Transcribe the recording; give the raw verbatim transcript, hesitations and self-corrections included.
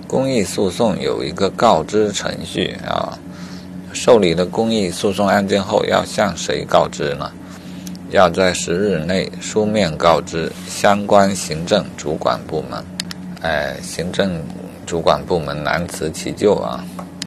公益诉讼有一个告知程序啊，受理了公益诉讼案件后要向谁告知呢？要在十日内书面告知相关行政主管部门。哎，行政主管部门难辞其咎啊。